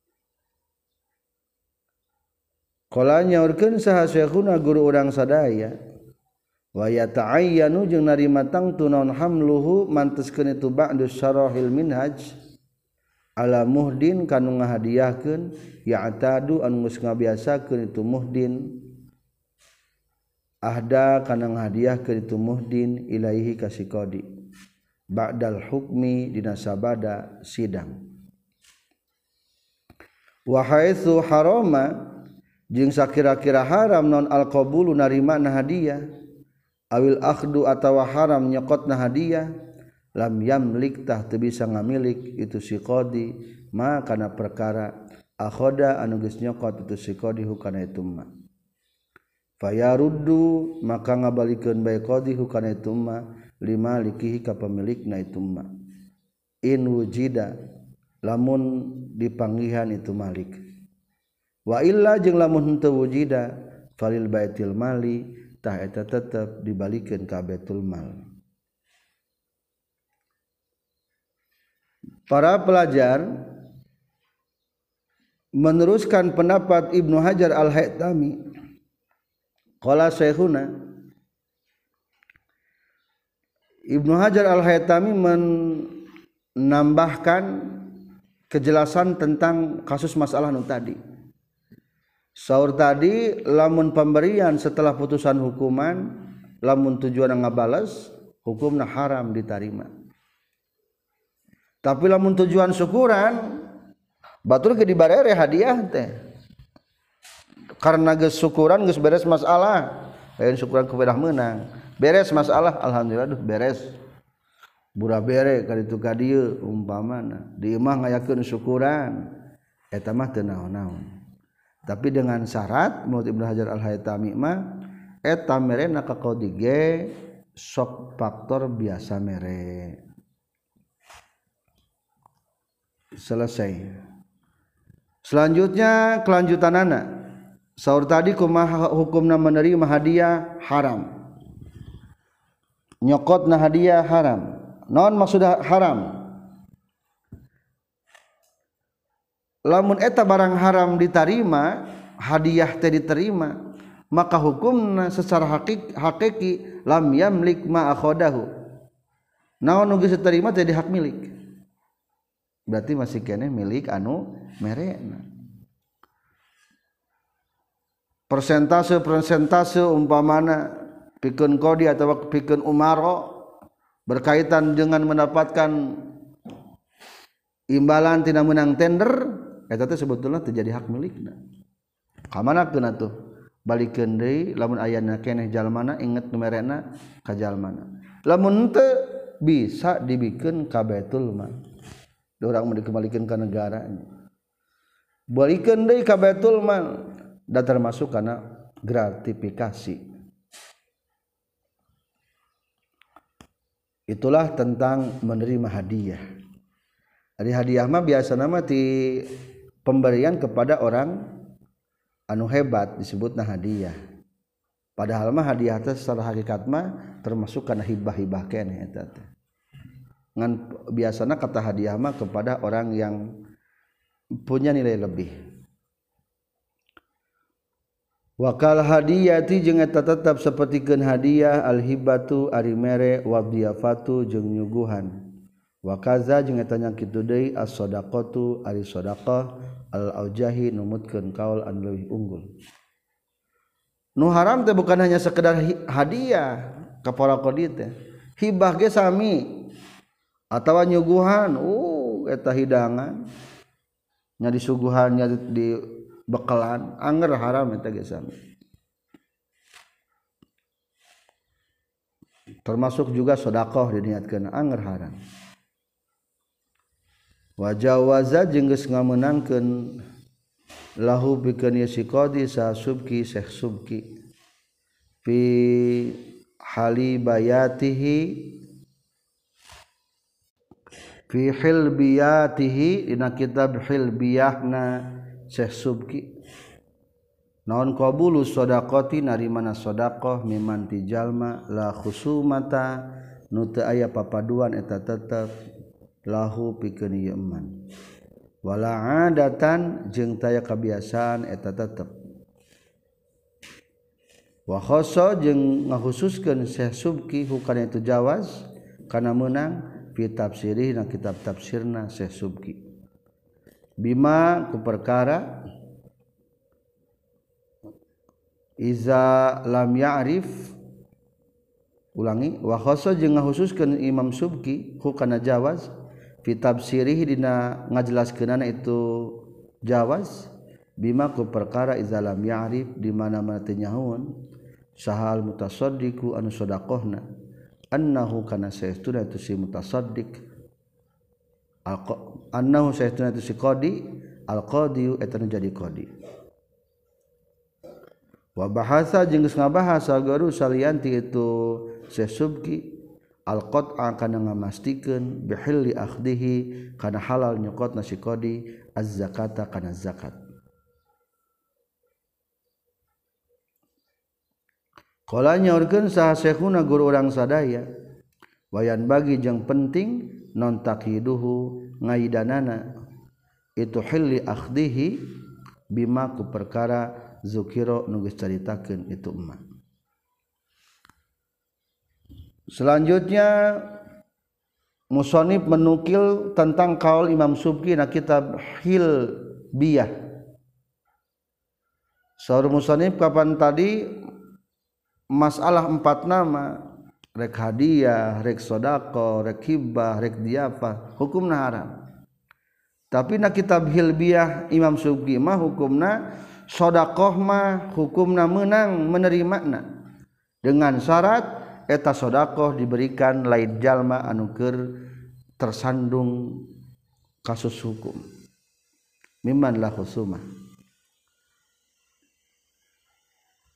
A: qala nyaurkeun saha syekhuna guru urang sadaya wa yata'ayyanu jeung narima tangtu naon hamluhu manteskeun itu ba'du syarahil minhaj ala muhdin kanu ngahadiahkeun ya'tadu anu geus ngabiasakeun itu muhdin ahda kana ngahadiahkeun itu muhdin ilaihi ka si qadi ba'dal hukmi dina sabada sidang wa haitsu harama jeung sakira-kira haram non alqabulu narima na hadiah awil akhdu atawa haram nyokotna hadiah lam yamlik tah teu bisa ngamilik itu si qadi ma kana perkara akhoda anu geus nyokot itu si qadi hukana itu ma fayaruddu maka ngabalikeun bae qadi hukana itu ma lima likihi ka pemilikna itu ma in wujida lamun dipanggihan itu malik wa illa jeung lamun henteu wujida falil baitil mali tah eta tetep dibalikeun ka baitul mal. Para pelajar meneruskan pendapat Ibnu Hajar Al-Haytami qala syekhuna Ibnu Hajar Al-Haytami menambahkan kejelasan tentang kasus masalah nu tadi. Saur tadi lamun pemberian setelah putusan hukuman lamun tujuan ngabalas hukumna haram diterima. Tapi lamun tujuan syukuran batur ge dibarere hadiah teh. Karena geus syukuran geus beres masalah, lain syukuran kepedah meunang. Beres masalah alhamdulillah duh beres. Bura bere ka ditu ka dieu umpamana di imah ngayakeun syukuran eta mah teu naon-naon. tapi dengan syarat menurut Ibnu Hajar Al-Haytami mah eta merena ka qadi ge sok faktor biasa mere. Selesai. Selanjutnya kelanjutanana saur tadi kumaha hukumna menerima hadiah haram, nyokotna hadiah haram. Naon maksud haram? Lamun eta barang haram diterima, hadiah teh diterima, maka hukumna secara hakiki, hakiki lam yamlik ma akhadahu. Naon nu geus diterima teh hak milik. Berarti masih kene milik anu merena. Persentase-persentase umpamana pikeun qadi atau pikeun umaro berkaitan dengan mendapatkan imbalan tina menang tender, eta teh sebetulna teu jadi hak milikna. Ka manakeun atuh? Balikeun deui lamun ayana keneh jalmana inget nu merena ka jalmana. Lamun teu bisa dibikeun ka Baitul Mal. Da urang mah dikembalikeun ka negaranya. Balikeun deui ka Baitul Mal da termasuk kana gratifikasi. Itulah tentang menerima hadiah. Ari hadiah mah biasana mah ti pemberian kepada orang anu hebat disebutna hadiah. Padahal mah hadiah teh secara hakikat mah termasuk kana hibah-hibah keneh eta teh. Ngan biasana kata hadiah mah kepada orang yang punya nilai lebih. Wakal hadiyati jeung eta tetep sapertikeun hadiah al-hibatu ari mere wa dhiyafatu jeung nyuguhan. Wa kaza jeung eta nya kitu deui as-shadaqatu ari shadaqah al-aujahi numutkeun kaul anu leuwih unggul. Nu haram teh bukan hanya sekedar hadiah ka para qadi teh. Hibah ge sami atawa nyuguhan, uh eta hidangan nya disuguhan nya di bekalan anger haram eta ge sami. Termasuk juga sedekah diniatkeun anger haram. Wajawaza jeung geus ngameunangkeun lahu pikeun si qadi sa subki syekh subki fi hali bayatihi fi hilbiyatihi dina kitab hilbiyahna syekh subki naon qabulu shadaqati narimana shadaqah miman tijalma la khusumata nu teu aya papaduan eta tetep lahu pikeun ieu eman wala adatan jeung taya kabiasaan eta tetep wa khassa jeung ngakhususkeun Syekh Subki hukana itu jawaz kana meunang fi tafsirih na kitab tafsirna Syekh Subki bima ku perkara iza lam ya'rif ulangi wa khassa jeung ngakhususkeun Imam Subki hukana jawaz fi tafsirih dina ngajelaskeunana itu jawaz bima ku perkara iza lam ya'rif di mana-mana teu nyahoun sahal mutasaddiqu anu sedaqahna annahu kana saestuna itu si mutasaddiq annahu saestuna itu si qadi al qadi eta nu jadi qadi wa bahasa jeung geus ngabahas garu salianti itu Syekh Subki al-qat'a kana ngamastikeun bihilli akhdihi kana halal nyokotna si qadi az-zakata kana zakat. Qala nyaurkeun saha syekhuna guru urang sadaya wayan bagi jeung penting non taqiduhu ngaidanana itu hilli akhdihi bima ku perkara zukira nu geus caritakeun itu emma. Selanjutnya musannif menukil tentang kaul Imam Subki na kitab Hilbiyah. Saur musannif kapan tadi masalah empat nama rek hadiah, rek sedekah, rek hibah, rek diyafah hukumna haram. Tapi na kitab Hilbiyah Imam Subki mah hukumna sedekah mah hukumna meunang menerimana dengan syarat eta sedekah diberikan lain jalma anu keur tersandung kasus hukum mimman la khusumah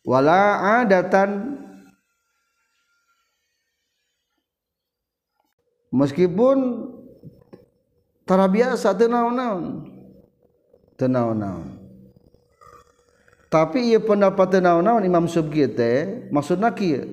A: wala adatan meskipun tara biasa teu naon-naon teu naon-naon tapi ieu pendapat teu naon-naon Imam Subki teh maksudna kieu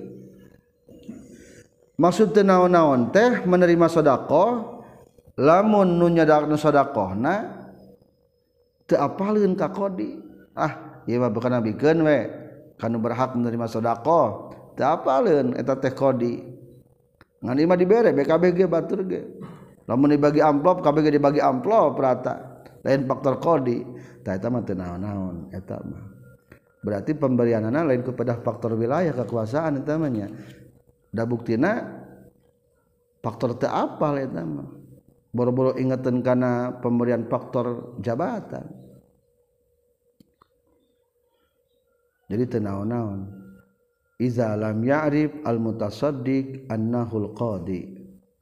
A: maksud teu naon-naon teh menerima sedekah lamun nu nyadaqna sedekahna teu apaleun ka qadi ah ieu mah bukan nabikeun we kanu berhak menerima sedekah teu apaleun eta teh qadi ngan ieu mah dibere B K B ge batur ge lamun dibagi amplop K B G dibagi amplop rata lain faktor qadi tah eta mah teu naon-naon eta mah berarti pemberianana lain kepada faktor wilayah kekuasaan eta mah nya da buktina faktor teu apal eta mah boro-boro ingetan kana pemberian faktor jabatan jadi teu naon-naon iza lam ya'rif al mutasaddiq annahu al qadi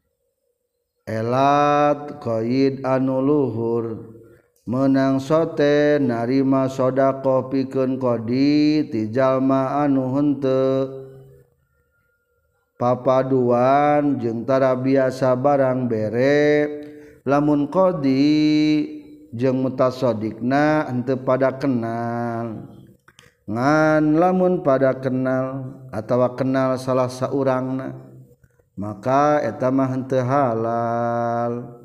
A: elat qaid anu luhur menang sote narima sodaqah pikeun qadi ti jalma anu henteu papaduan jeung tara biasa barang bere lamun qadi jeung mutasaddiqna henteu pada kenal ngan lamun pada kenal atawa kenal salah saurangna maka eta mah henteu halal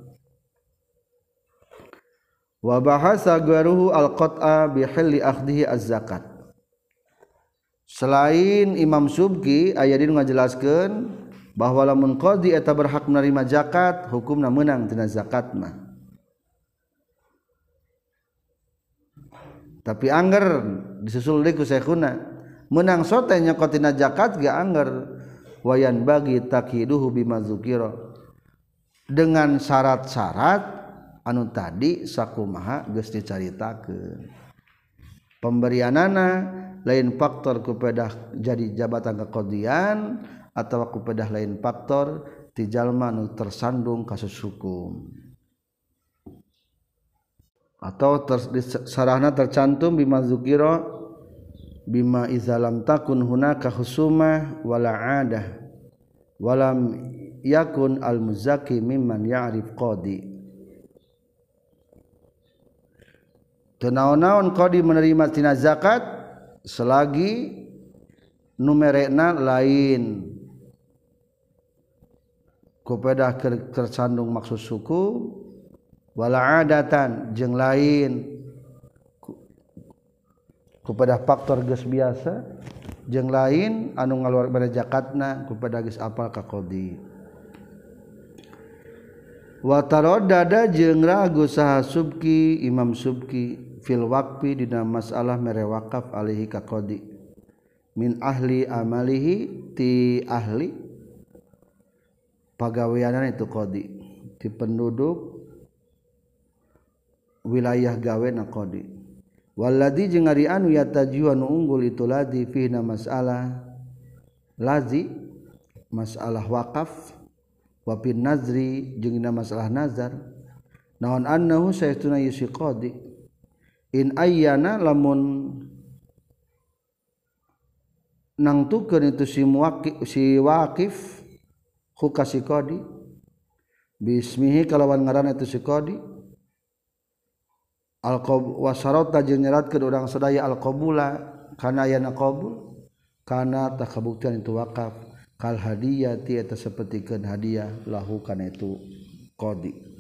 A: wa bahasa garuhu al-qat'a bi hilli akhdhihi az-zakat selain Imam Subki aya dieu ngajelaskeun bahwa lamun qadi eta berhak menerima zakat hukumna meunang tina zakat mah tapi angger disusul deui ku syekhuna meunang sote nyokot tina zakat ge angger wayan bagi takiduhu bima dzukira dengan syarat-syarat anu tadi sakumaha geus dicaritakeun pemberianana lain faktor kupedah jadi jabatan keqadian atawa kupedah lain faktor ti jalma nu tersandung kasus hukum atau ter, sarahna tercantum bima dzukira bima izalam takun hunaka husumah wala adah walam yakun al muzaki mimman ya'rif qadi teu naon-naon qadi menerima tina zakat selagi numerekna lain kupedah tersandung maksud suku wala adatan jeung lain kupedah faktor geus biasa jeung lain anu ngaluar bade zakatna kupedah geus apal ka qadi wa taraddada jeung ragu saha Subki Imam Subki fil waqfi dina masalah mere wakaf alaihi ka qadi min ahli amalihi ti ahli pagaweanan itu qadi ti penduduk wilayah gawena qadi walladzi jeung ari anu yatajiu anu unggul itu ladzi fina masalah lazi masalah wakaf wa bin nazri jeung dina masalah nazar naon annahu saytuna yusi qadi in ayyana lamun nangtukeun itu si muwaqif si waqif ku kasih qadi bismihi kalawan ngaranna itu si qadi al qab wa syarata jeung nyeratkeun urang sadaya al qabula kana ayana qabul kana tah kabuktian itu wakaf kal hadiyati eta sapertikeun hadiah lahu kana itu qadi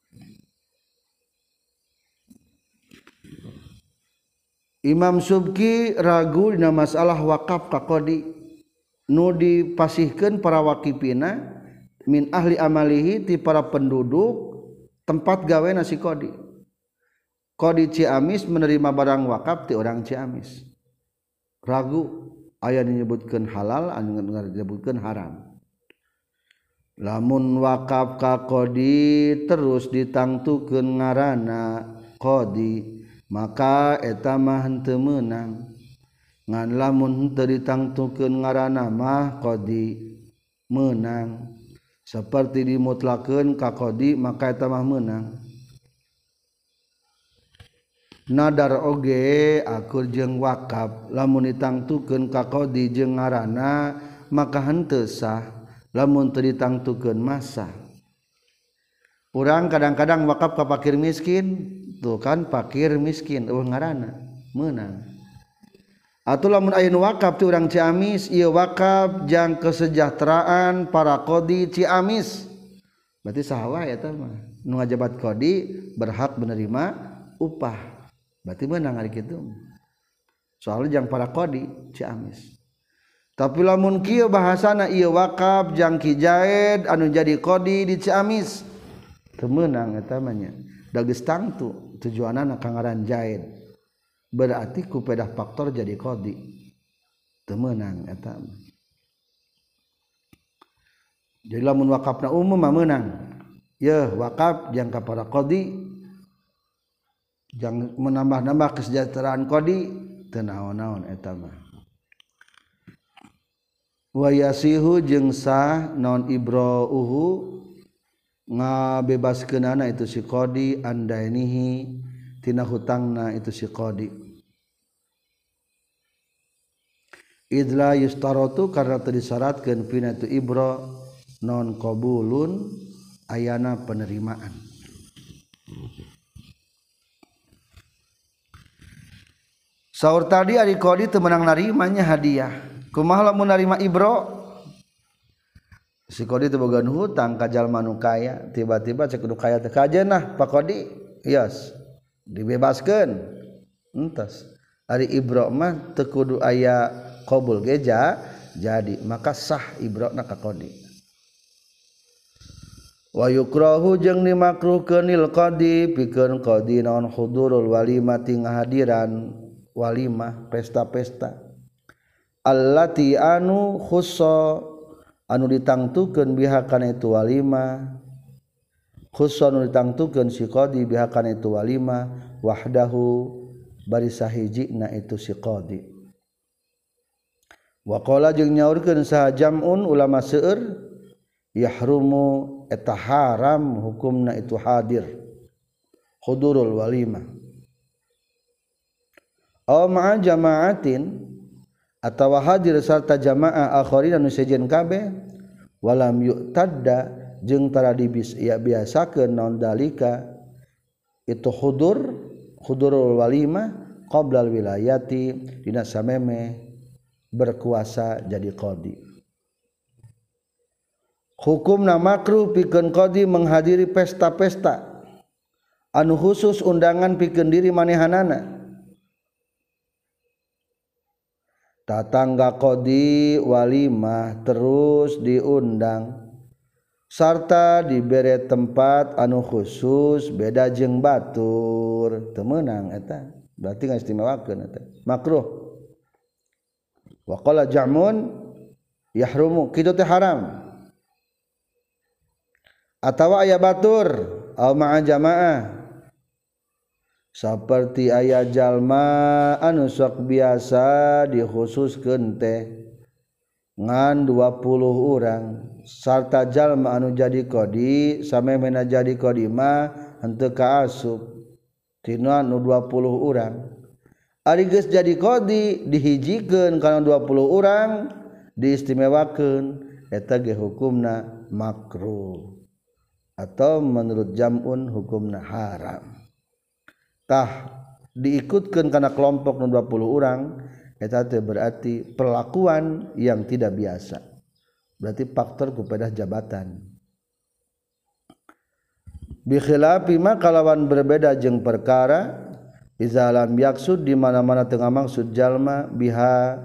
A: Imam Subki ragu dina masalah wakaf ka qadi nu dipasihkeun para waqifina min ahli amalihi ti para penduduk tempat gawena si qadi qadi Ciamis menerima barang wakaf ti orang Ciamis ragu aya disebutkeun halal anu disebutkeun haram lamun wakaf ka qadi terus ditangtukeun ngaranna qadi maka eta mah henteu meunang ngan lamun henteu ditangtukeun ngaranna mah qadi meunang saperti dimutlakeun ka qadi maka eta mah meunang nadar oge akur jeung wakaf lamun ditangtukeun ka qadi jeung ngaranna maka henteu sah lamun teu ditangtukeun masa. Urang kadang-kadang wakaf ka fakir miskin tuh kan fakir miskin eueuh ngaranna meunang. Atuh lamun aya nu wakaf ti urang Ciamis ieu wakaf jang kesejahteraan para qadi Ciamis. Berarti saha wae eta mah nu ngajabat qadi berhak menerima upah. Berarti meunang ari kitu. Soalnya jang para qadi Ciamis. Tapi lamun kieu bahasana ieu wakaf jang Ki Jaed anu jadi qadi di Ciamis. Teu meunang eta mah nya. Da geus tangtu tujuanna ka ngaran Jaed. Berarti ku pedah faktor jadi qadi. Teu meunang eta mah. Jadi lamun wakafna umum mah meunang. Yeuh wakaf jang ka para qadi jang menambah-nambah kesejahteraan qadi teu naon-naon eta mah. Wa yasihu jeung sah naon ibrauhu ngabebaskeunana itu si qadi andainihi tina hutangna itu si qadi. Idla yustaratu karena teu disyaratkeun pina tu ibra non qabulun ayana penerimaan. Saur tadi ari qadi teu meunang narimanya hadiah. Kumaha lamun narima ibro? Si qadi teu boga hutang ka jalma nu kaya, tiba-tiba cek nu kaya teh kajenah Pak Qadi, yes, dibebaskeun. Entos. Ari ibro mah teu kudu aya qabul geja, jadi maka sah ibrona ka qadi. Wa yukrahu jeung dimakruhkeun lil qadi pikeun qadi naon hudurul walimati ngahadiran walimah pesta-pesta allati anu khussa anu ditangtukeun biha kana itu walimah khussa anu ditangtukeun si qadi biha kana itu walimah wahdahu bari sahijina itu si qadi. Wa qala jeung nyaurkeun saha jam'un ulama seueur yahrumu eta haram hukumna itu hadir hudurul walimah aw ma'a jama'atin atawa hadir sarta jamaah akharin anu sejen kabeh walam yu'tadda jeung tara dibis ya biasakeun naon dalika itu hudur hudurul walimah qabla wilayati dina sameme berkuasa jadi qadi. Hukumna makruh pikeun qadi menghadiri pesta-pesta anu khusus undangan pikeun diri manehanana. Tatangga qadi walimah terus diundang sarta dibere tempat anu khusus beda jeung batur teu meunang eta berarti ngastimewakeun eta makruh. Wa qala ja'mun yahrumu kitu teh haram atawa aya batur au ma'a jamaah saperti aya jalma anu sok biasa dikhususkeun teh ngan dua puluh urang sarta jalma anu jadi qadi samemena jadi qadi mah henteu kaasup tina anu dua puluh urang ari geus jadi qadi dihijikeun kana dua puluh urang diistimewakeun eta ge hukumna makruh atau menurut jam'un hukumna haram. Tah diikutkeun kana kelompok nu dua puluh urang eta teh berarti perlakuan yang tidak biasa. Berarti faktor kupedah jabatan. Bi khilafi ma kalawan berbeda jeung perkara iza lam yaksud di mana-mana teu ngamaksud jalma biha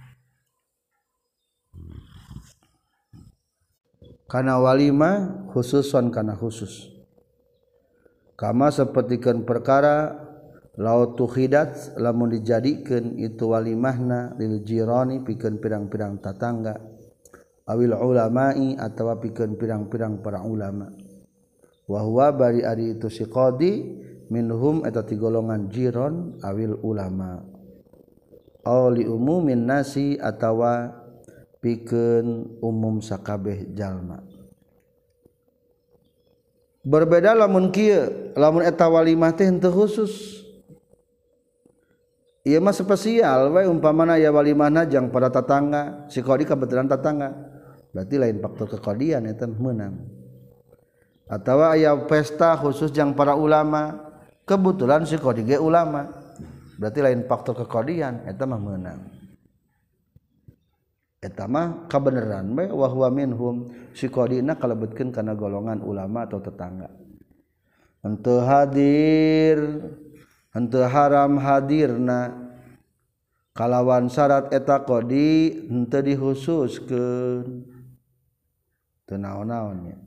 A: kana walimah khususon kana khusus kama sapertikeun perkara laut tukhidat lamun dijadikeun itu walimahna lil jirani pikeun pirang-pirang tatangga awil ulama'i atawa pikeun pirang-pirang para ulama wa huwa bari ari itu si qadi minhum eta ti golongan jiron awil ulama aw li umumin nasi atawa pikeun umum sakabeh jalma. Berbeda lamun kieu lamun eta walimah teh henteu khusus ieu mah spesial we umpamana aya walimahna jang para tatangga si qadi kebetulan tatangga berarti lain faktor kekodian eta meunang atawa aya pesta khusus jang para ulama kebetulan si qadi ge ulama berarti lain faktor kekodian eta mah meunang eta mah kabeneran we wa huwa minhum si qadina kalebetkeun kana golongan ulama atau tetangga henteu hadir henteu haram hadirna kalawan syarat eta qadi henteu dihususkeun teu naon-naon nya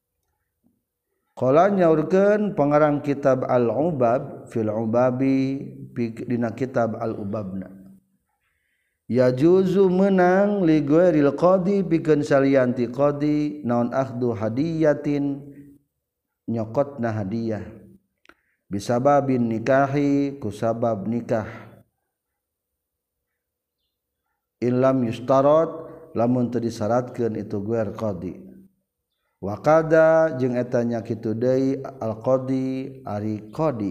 A: qala nyaurkeun pangarang kitab Al-Ubab fil Ubabi dina kitab Al-Ubabna ya juzu menang li ghairil qadi pikeun salianti qadi naon akhdu hadiyatin nyokotna hadiah bisababin nikahi kusabab nikah illam yustarat lamun teu disyaratkeun itu ghair qadi wa qada jeung eta nya kitu deui al qadi ari qadi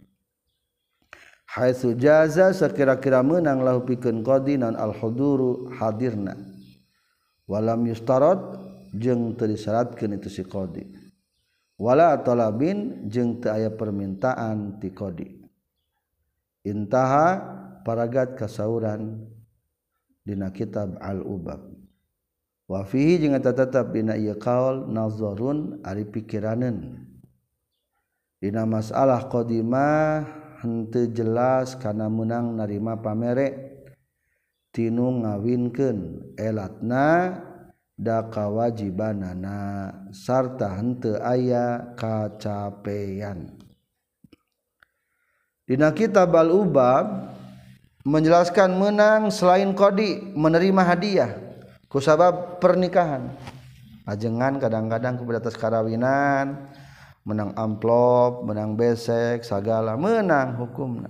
A: haitsu jaza sakira-kira meunang lahu pikeun qadi naon al huduru hadirna walam yustarat jeung teu disyaratkeun itu si qadi wala talabin jeung teu aya permintaan ti qadi intaha paragat kasauran dina kitab Al-Ubab wa fihi jeung eta tetep dina ieu qaul nazarun ari pikiraneun dina masalah qadimah henteu jelas kana meunang narima pamere tinu ngawinkeun elatna da kawajibanana sarta henteu aya kacapean dina kitab Al-Ubab menjelaskan menang selain qadi menerima hadiah kusabab pernikahan ajengan kadang-kadang kepada atas karawinan menang amplop menang besek sagala menang hukumna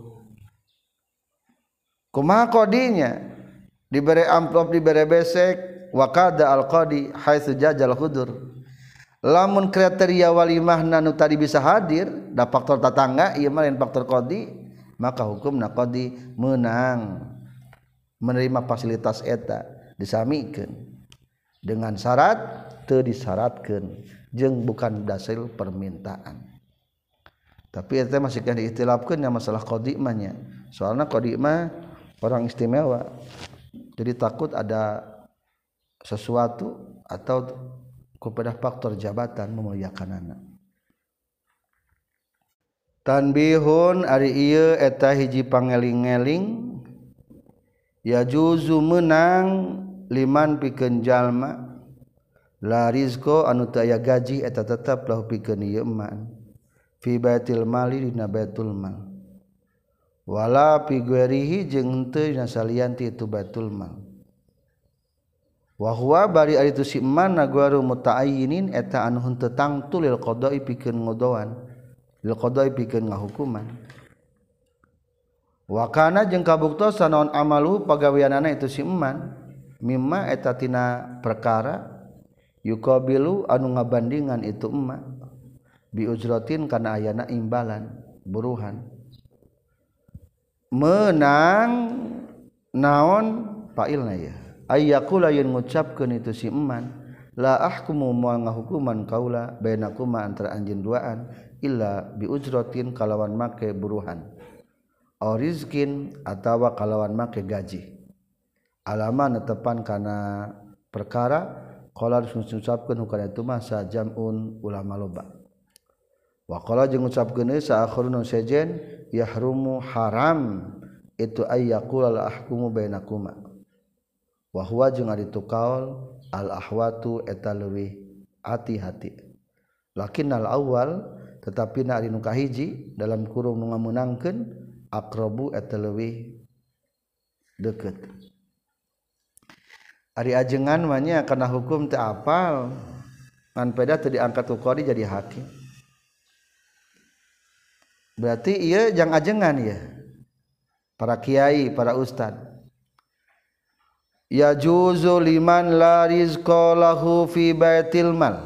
A: kumaha qadinya dibere amplop dibere besek wa qada al qadi haitsu jajal hudur lamun kriteria walimahna nu tadi bisa hadir da faktor tatangga ieu mah lain faktor qadi maka hukumna qadi menang menerima fasilitas eta disamikeun dengan syarat teu disyaratkeun jeung bukan dasar permintaan tapi eta masih kan diistilafkeun nya masalah qadi mah nya soalna qadi mah orang istimewa jadi takut ada sesuatu atau kepada faktor jabatan memuliakanana tanbihun ari ieu eta hiji pangeling-eling ya juzu menang liman pikeun jalma la rizqo anu teu aya gaji eta tetep lahu pikeun ieu eman fi baitil mali dina baitul mal wala fi ghairihi jeung henteu dina salianti itu baitul mal wa huwa bari ari tu si eman nagwaru mutaayyinin eta anu henteu tangtu lil qada'i pikeun ngodoan lil qada'i pikeun ngahukuman wa kana jeung kabuktosan naon amalu pagaweanana itu si eman mimma eta tina perkara yuqabilu anu ngabandingan itu emak bi ujratin kana ayana imbalan buruhan menang naon pailna ya ayyaqula yen ngucapkeun itu si eman la ahkumu moal ngahukuman kaula bainakuma antara anjeun duaan illa bi ujratin kalawan make buruhan aw rizkin atawa kalawan make gaji alama netepan kana perkara qala ngucapkeun hukana itu mah sajamun ulama loba wa qala jeung ngucapkeun sa akhirun sejen yahrumu haram itu ayyaqula la ahkumu bainakuma wa huwa jeung ari tu qaul al ahwatu eta leuwih hati-hati lakinnal awal tetapi na ari nu kahiji dalam kurung nu ngameunangkeun aqrabu eta leuwih deukeut ari ajengan mah nya kana hukum teu apal ngan peda teu diangkat ku qadi jadi hakim berarti ieu jang ajengan ya para kiai para ustad ya juzu liman la rizqa lahu fi baitil mal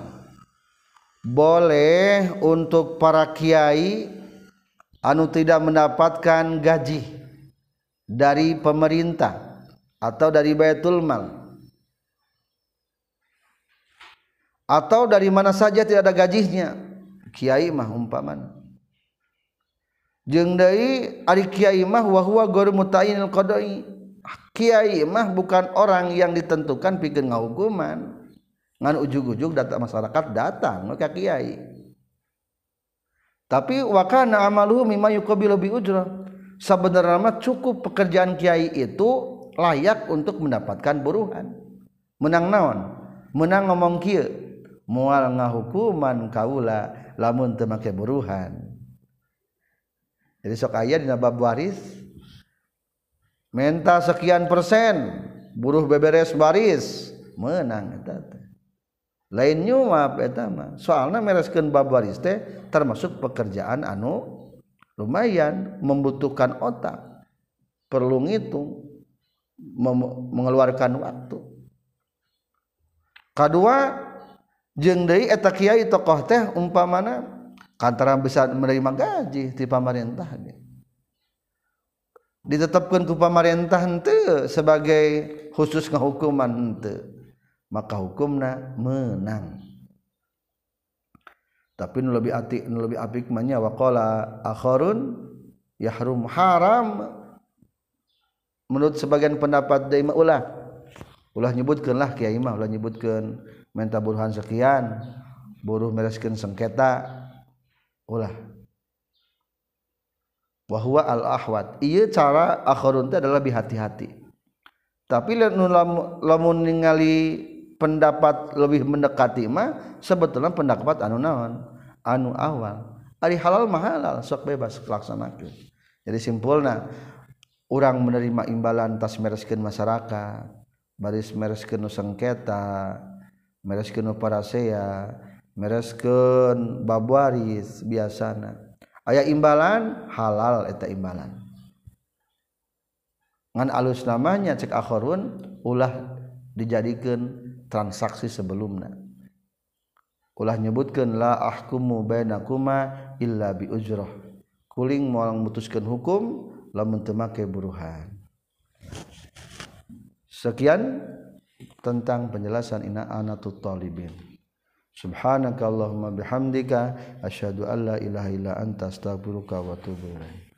A: boleh untuk para kiai anu tidak mendapatkan gaji dari pemerintah atau dari Baitul Mal atau dari mana saja tidak ada gajinya, kiai mah umpamana. Jeung deui ari kiai mah wa huwa ghairu muta'inil qada'i. Kiai mah bukan orang yang ditentukan pikeun ngahukuman. Ngan ujug-ujug datang masyarakat datang ka kiai. Tapi wa kana amaluhu mimma yuqabilu bi ujrah. Sabenerna mah cukup pekerjaan kiai itu layak untuk mendapatkan buruhan. Menang naon? Menang ngomong kieu, moal ngahukuman kaula lamun teu make buruhan. Jadi sok aya dina bab waris menta sekian persen buruh beberes waris menang eta teh. Lain nyuap eta mah. Soalna mereskeun bab waris teh termasuk pekerjaan anu lumayan membutuhkan otak. Perlu ngitung mengeluarkan waktu. Kadua jeung deui eta kiai tokoh teh umpamana kantara bisa menerima gaji ti pamarentah ge. Ditetapkeun ku pamarentah henteu sebagai khusus ngahukuman henteu. Maka hukumna menang. Tapi nu lebih ati nu lebih apik mah nya waqala akharun yahrum haram. Menurut sebagian pendapat deui mah ulah ulah nyebutkeun lah kiai mah ulah nyebutkeun menta buruhan sekian buruh mereskeun sengketa ulah wa huwa al ahwat. Ieu cara akharun teh adalah lebih hati-hati. Tapi lamun ningali pendapat lebih mendekati mah sebetulnya pendapat anu naon anu awal ari halal mah halal sok bebas laksanakeun. Jadi simpulna urang menerima imbalan tas mereskeun masyarakat baris mereskeun nu sengketa mereskeun nu parasea mereskeun bab waris biasana aya imbalan halal eta imbalan ngan alus namanya cek akharun ulah dijadikeun transaksi sebelumna. Ulah nyebutkeun la ahkumu bainakuma illa bi ujrah. Kuling moal mutuskeun hukum lamun teu make buruhan. Sekian tentang penjelasan Ina Anatut Talibin. Subhanakallahumma bihamdika asyhadu an la ilaha illa anta astaghfiruka wa atubu ilaik.